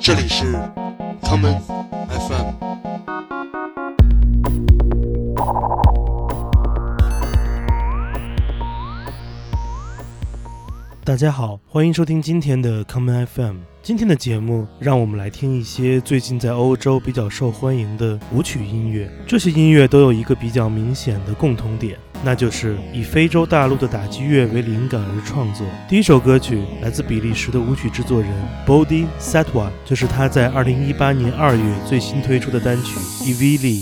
这里是 Common FM。 大家好，欢迎收听今天的 Common FM。今天的节目，让我们来听一些最近在欧洲比较受欢迎的舞曲音乐。这些音乐都有一个比较明显的共同点，那就是以非洲大陆的打击乐为灵感而创作。第一首歌曲来自比利时的舞曲制作人 Body Satwa， 就是他在2018年2月最新推出的单曲 Ivili。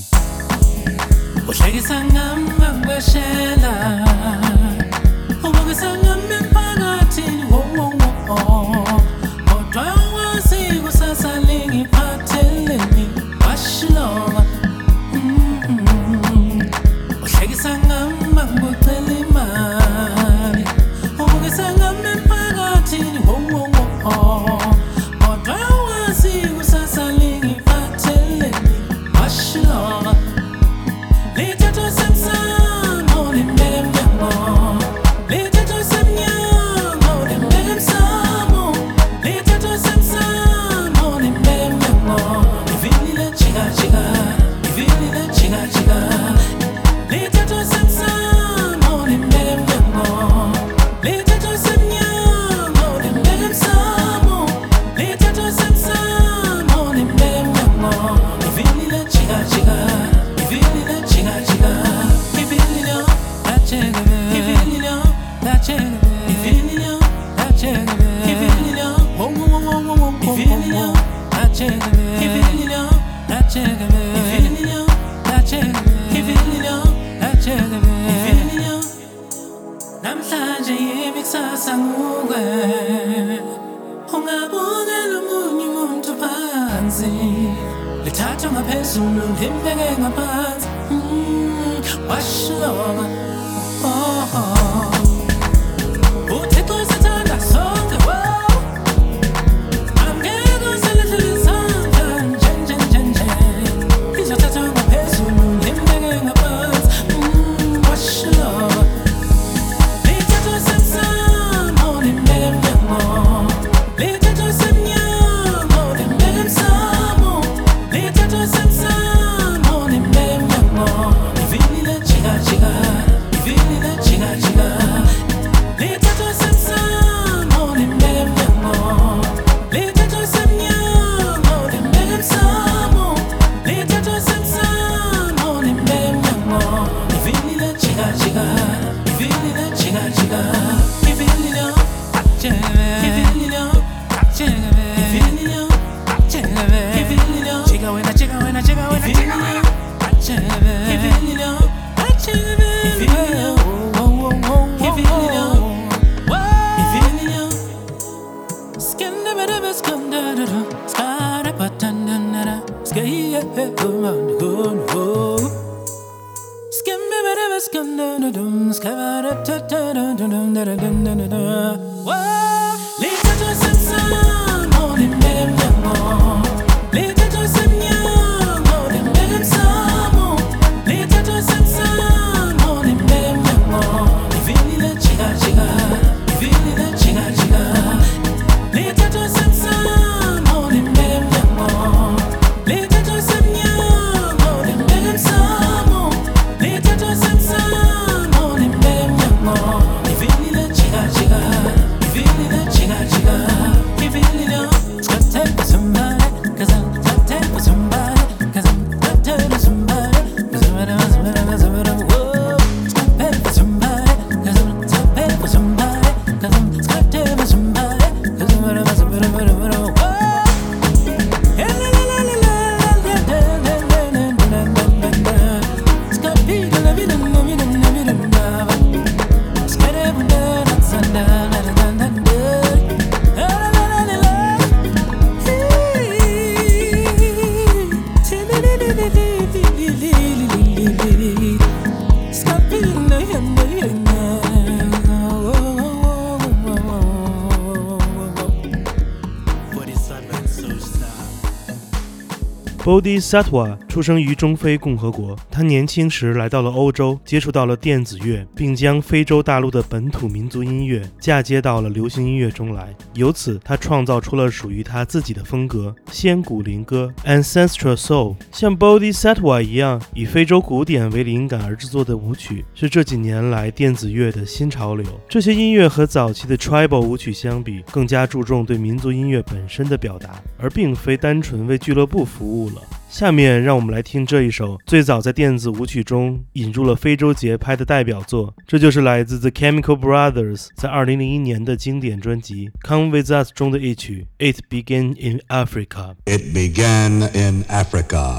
Feeling Bodhisattva 出生于中非共和国，他年轻时来到了欧洲，接触到了电子乐，并将非洲大陆的本土民族音乐嫁接到了流行音乐中来。由此，他创造出了属于他自己的风格——仙古灵歌 （Ancestral Soul）。像 Bodhisattva 一样，以非洲古典为灵感而制作的舞曲，是这几年来电子乐的新潮流。这些音乐和早期的 Tribal 舞曲相比，更加注重对民族音乐本身的表达，而并非单纯为俱乐部服务了。下面让我们来听这一首最早在电子舞曲中引入了非洲节拍的代表作，这就是来自 The Chemical Brothers 在2001年的经典专辑 Come With Us 中的一曲 It Began in Africa. It began in Africa.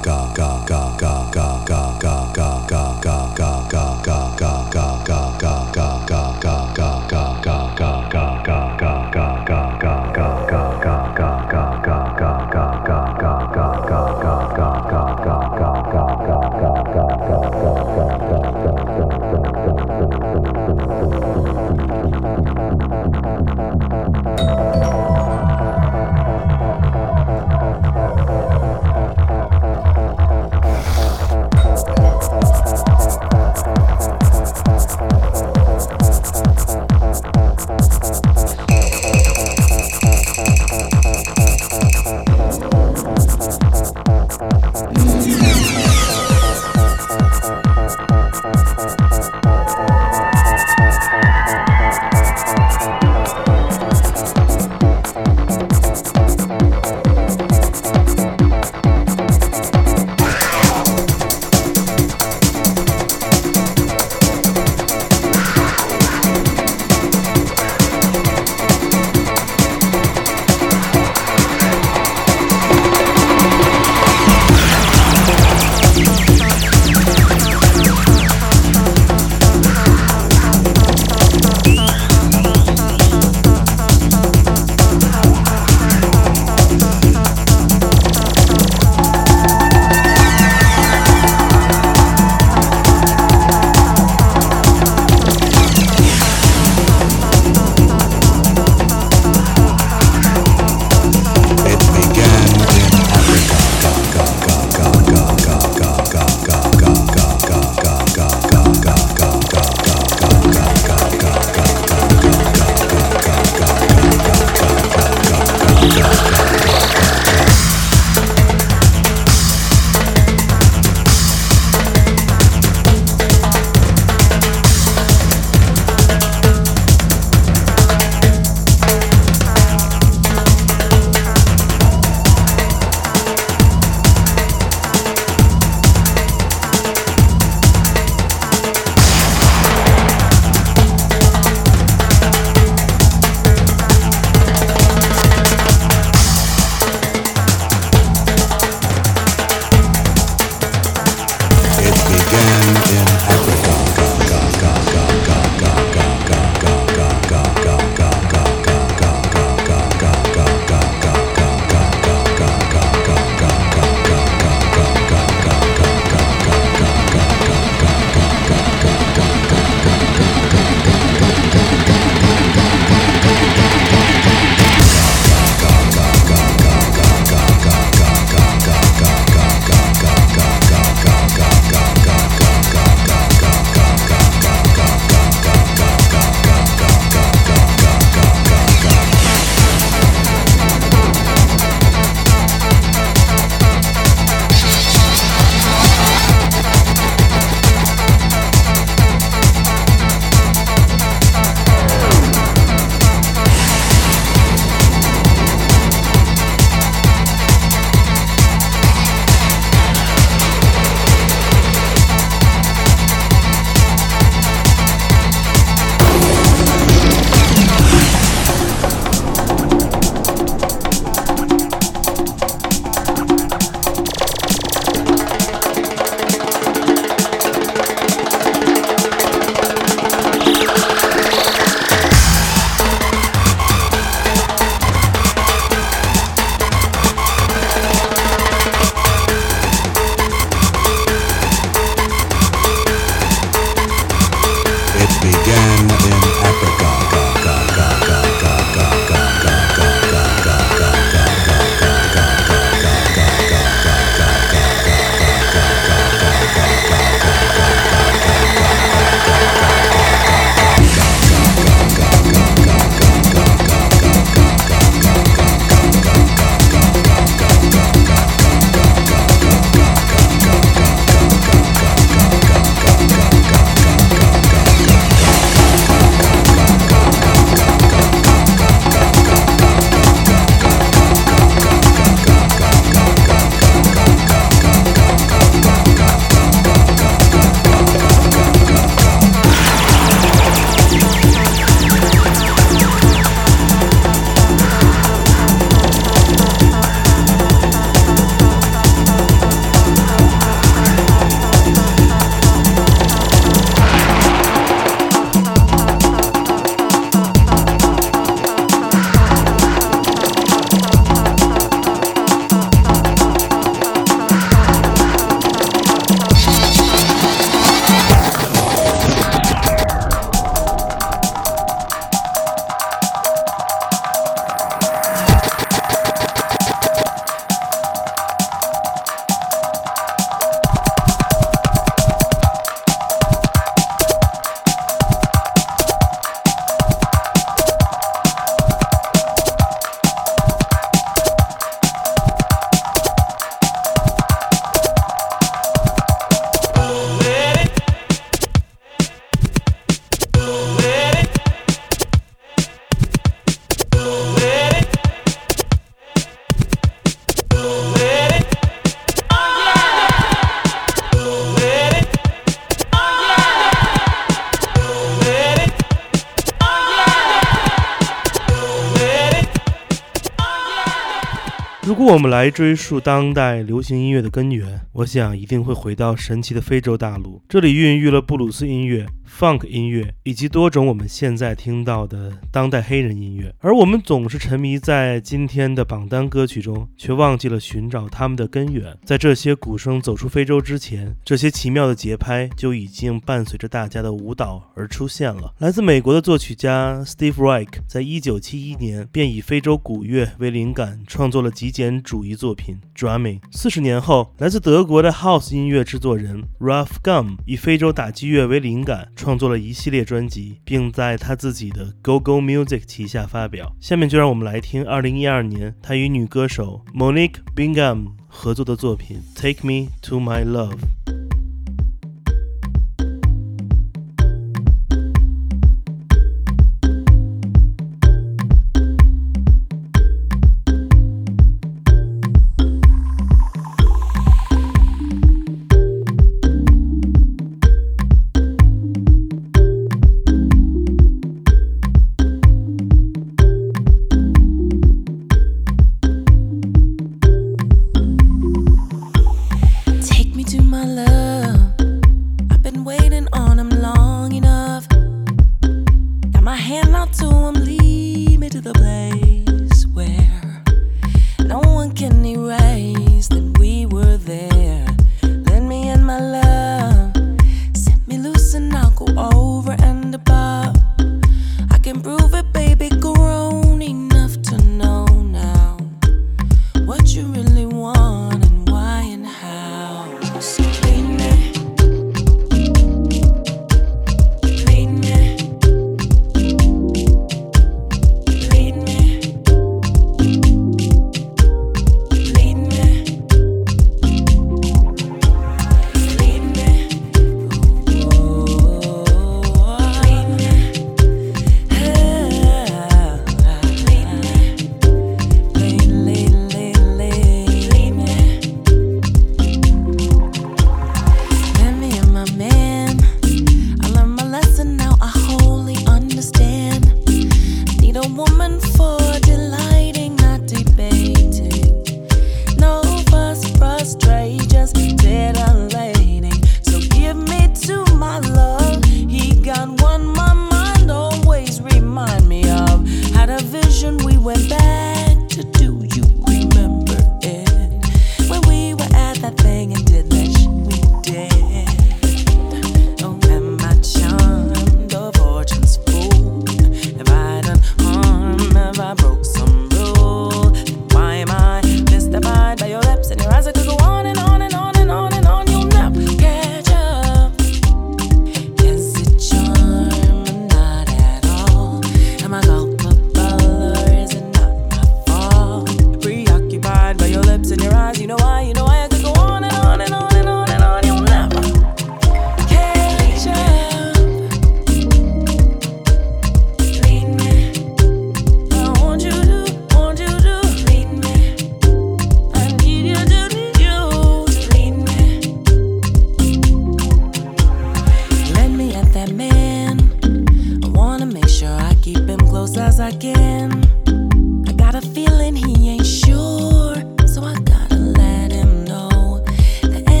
如果我们来追溯当代流行音乐的根源，我想一定会回到神奇的非洲大陆，这里孕育了布鲁斯音乐、funk 音乐以及多种我们现在听到的当代黑人音乐。而我们总是沉迷在今天的榜单歌曲中，却忘记了寻找他们的根源。在这些鼓声走出非洲之前，这些奇妙的节拍就已经伴随着大家的舞蹈而出现了。来自美国的作曲家 Steve Reich 在1971年便以非洲鼓乐为灵感，创作了极简主义作品 Drumming。 40年后，来自德国的 House 音乐制作人 Ralph Gum 以非洲打击乐为灵感，创作了一系列专辑，并在他自己的 Go-Go Music 旗下发表。下面就让我们来听2012年他与女歌手 Monique Bingham 合作的作品 Take Me to My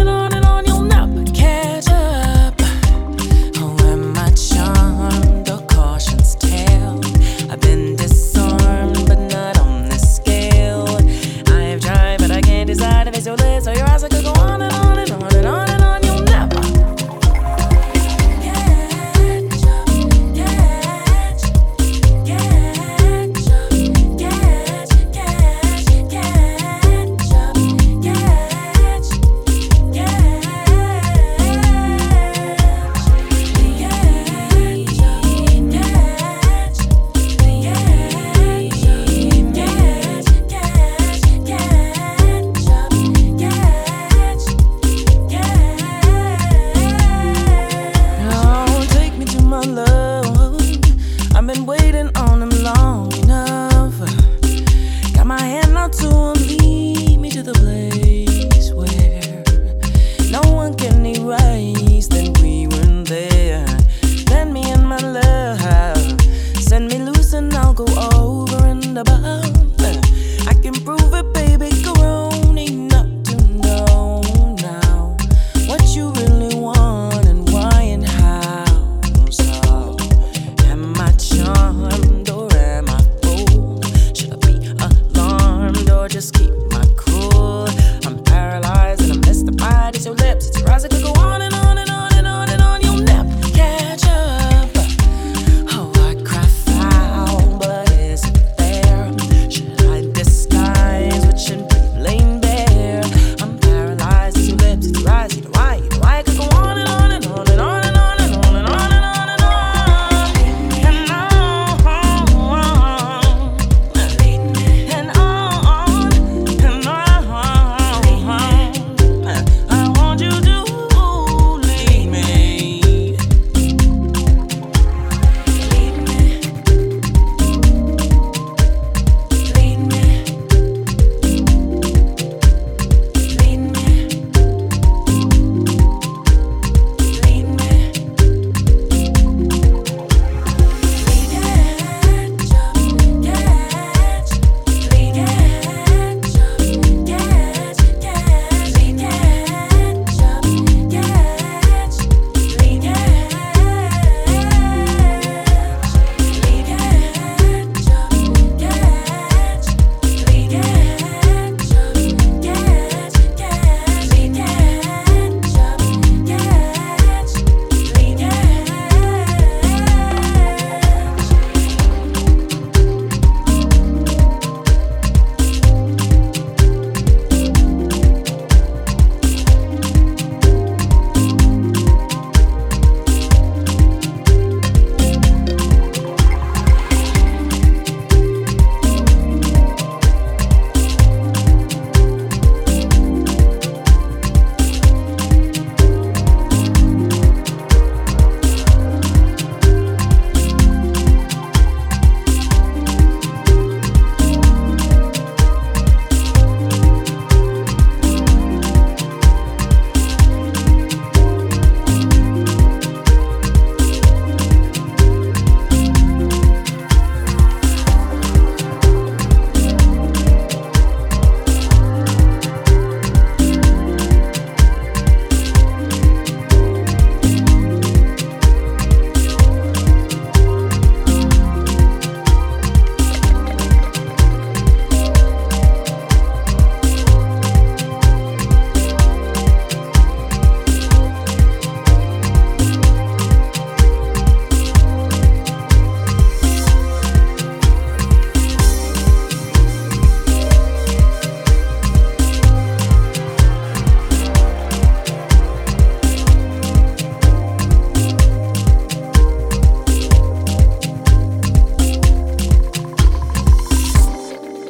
love.Catch up, oh, am I charmed or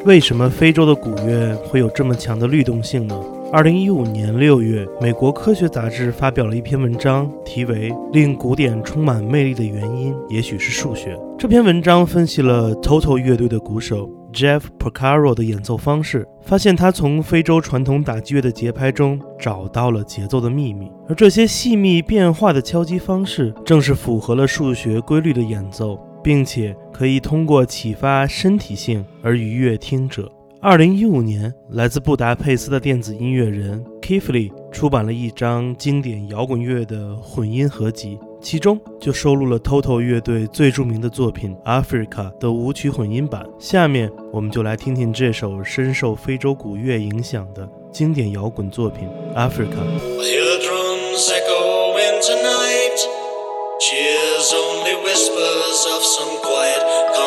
为什么非洲的古乐会有这么强的律动性呢？2015年6月，美国科学杂志发表了一篇文章，题为《令古典充满魅力的原因也许是数学》。这篇文章分析了 Toto 乐队的鼓手 Jeff Porcaro 的演奏方式，发现他从非洲传统打击乐的节拍中找到了节奏的秘密，而这些细密变化的敲击方式正是符合了数学规律的演奏，并且可以通过启发身体性而愉悦听者。2015年，来自布达佩斯的电子音乐人 Kifli 出版了一张经典摇滚乐的混音合集，其中就收录了 Toto 乐队最著名的作品 Africa 的舞曲混音版。下面我们就来听听这首深受非洲古乐影响的经典摇滚作品 Africa。 I hear the drums echoing tonight, cheers only whispers of some quiet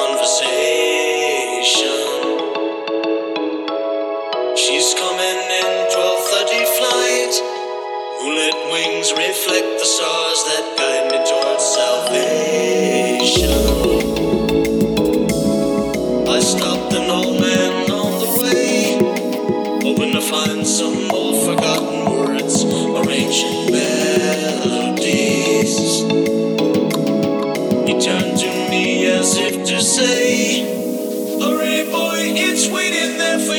conversation.She's coming in 12:30 flight. Moonlit wings reflect the stars that guide me towards salvation. I stopped an old man on the way, hoping to find some old forgotten words or ancient melodies. He turned to me as if to say, hurry boy, it's waiting there for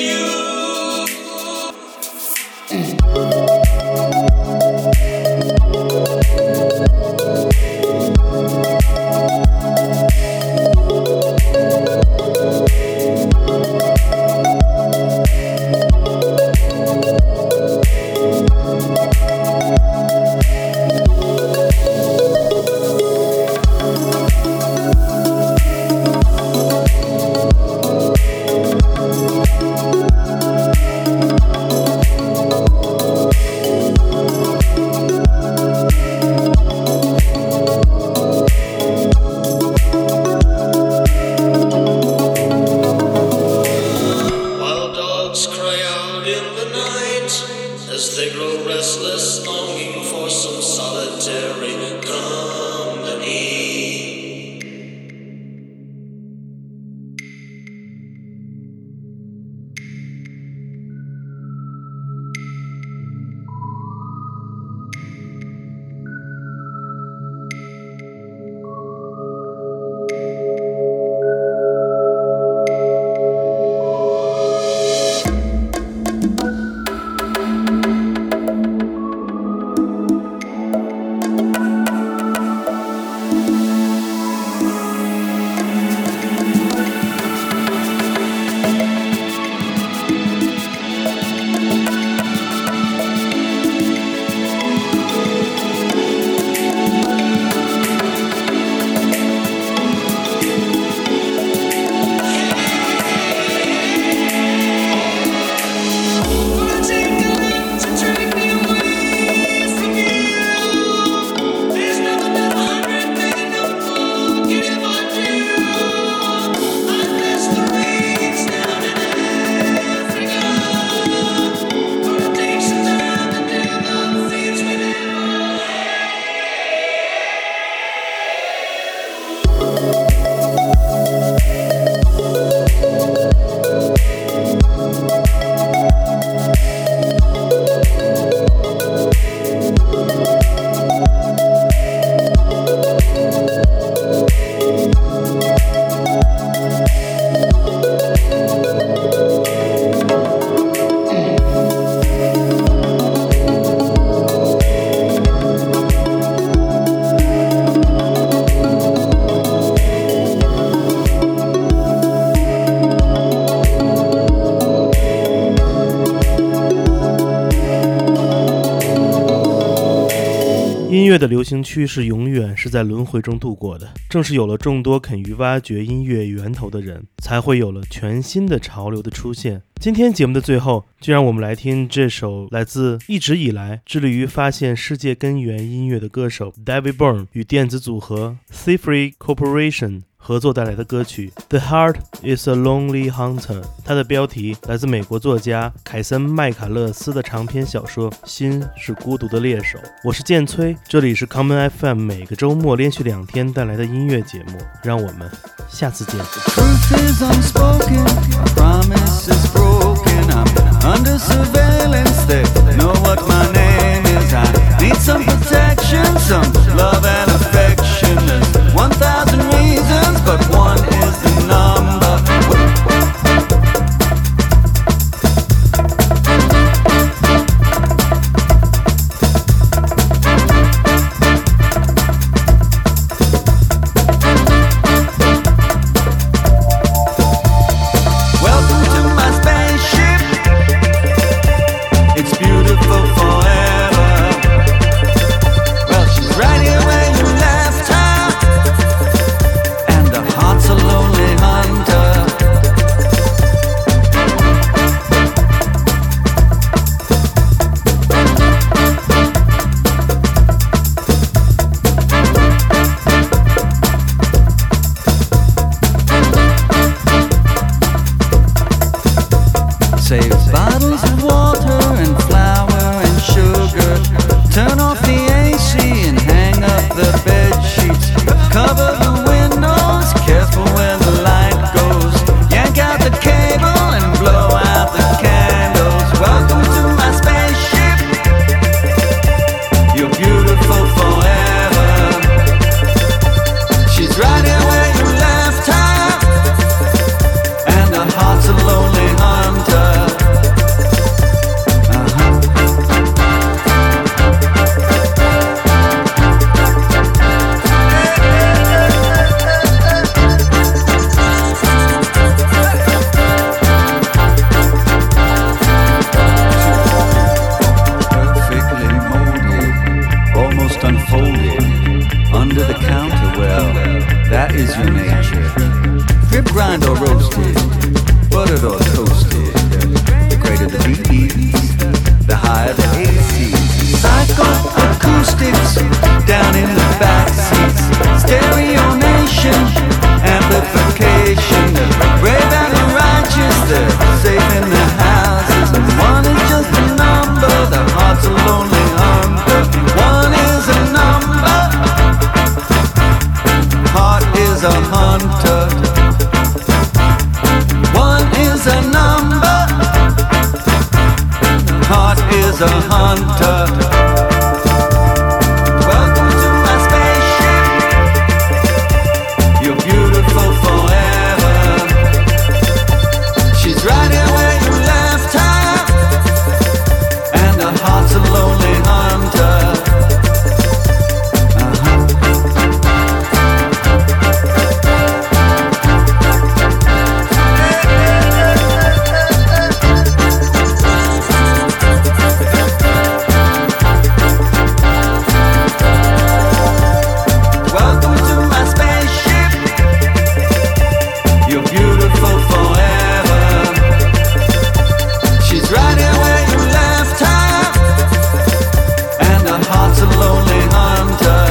you。 音乐的流行趋势永远是在轮回中度过的，正是有了众多肯于挖掘音乐源头的人，才会有了全新的潮流的出现。今天节目的最后，就让我们来听这首来自一直以来致力于发现世界根源音乐的歌手 David Byrne 与电子组合 Cipher Corporation合作带来的歌曲 The Heart is a Lonely Hunter。 它的标题来自美国作家凯森·麦卡勒斯的长篇小说《心是孤独的猎手》。我是建崔，这里是 Common FM 每个周末连续2天带来的音乐节目，让我们下次见。 Truth is unspoken, promise is broken. I'm under surveillance, they know what my name is. I need some protection, some love and affection. There's 1,000 reasons, but one is the number. Welcome to my spaceship. It's beautiful forever. Well, she's right here where you left her, and the heart's a lonely hunter. Save bottles of water and flour and sugar. Turn off the AC and hang up the bed sheets. Cover the windows, careful where the light goes. Yank out the cable and blow out the candles. Welcome to my spaceship. You're beautiful forever. She's right here where you left her, and her heart's a lonely hunter. Perfectly molded, almost unfolded, under the counter. Well, that is your nature. Drip grind or roasted, buttered or toasted. The greater the BEs, the higher the ACs. Psycho acoustics down in the back seats. Stereo nation, amplification. The brave and the righteous, they're safe in their houses. And one is just a number, the heart's a lonely hunter. One is a number, heart is a hunter. One is a number, heart is a hunter. Welcome to my spaceship. You're beautiful forever. She's right here where you left her, and her heart's a lonely hunter. Welcome to my spaceship. You're beautiful forever. She's right here where you left her, and her heart's a lonely hunter.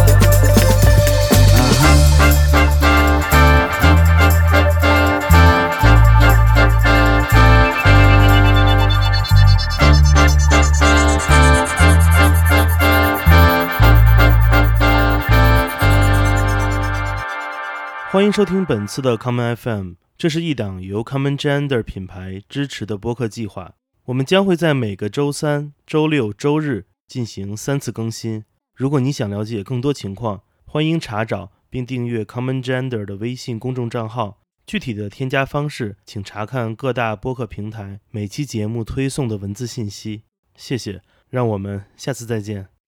欢迎收听本次的 Common FM， 这是一档由 Common Gender 品牌支持的播客计划。我们将会在每个周三、周六、周日进行3次更新。如果你想了解更多情况，欢迎查找并订阅 Common Gender 的微信公众账号。具体的添加方式，请查看各大播客平台每期节目推送的文字信息。谢谢，让我们下次再见。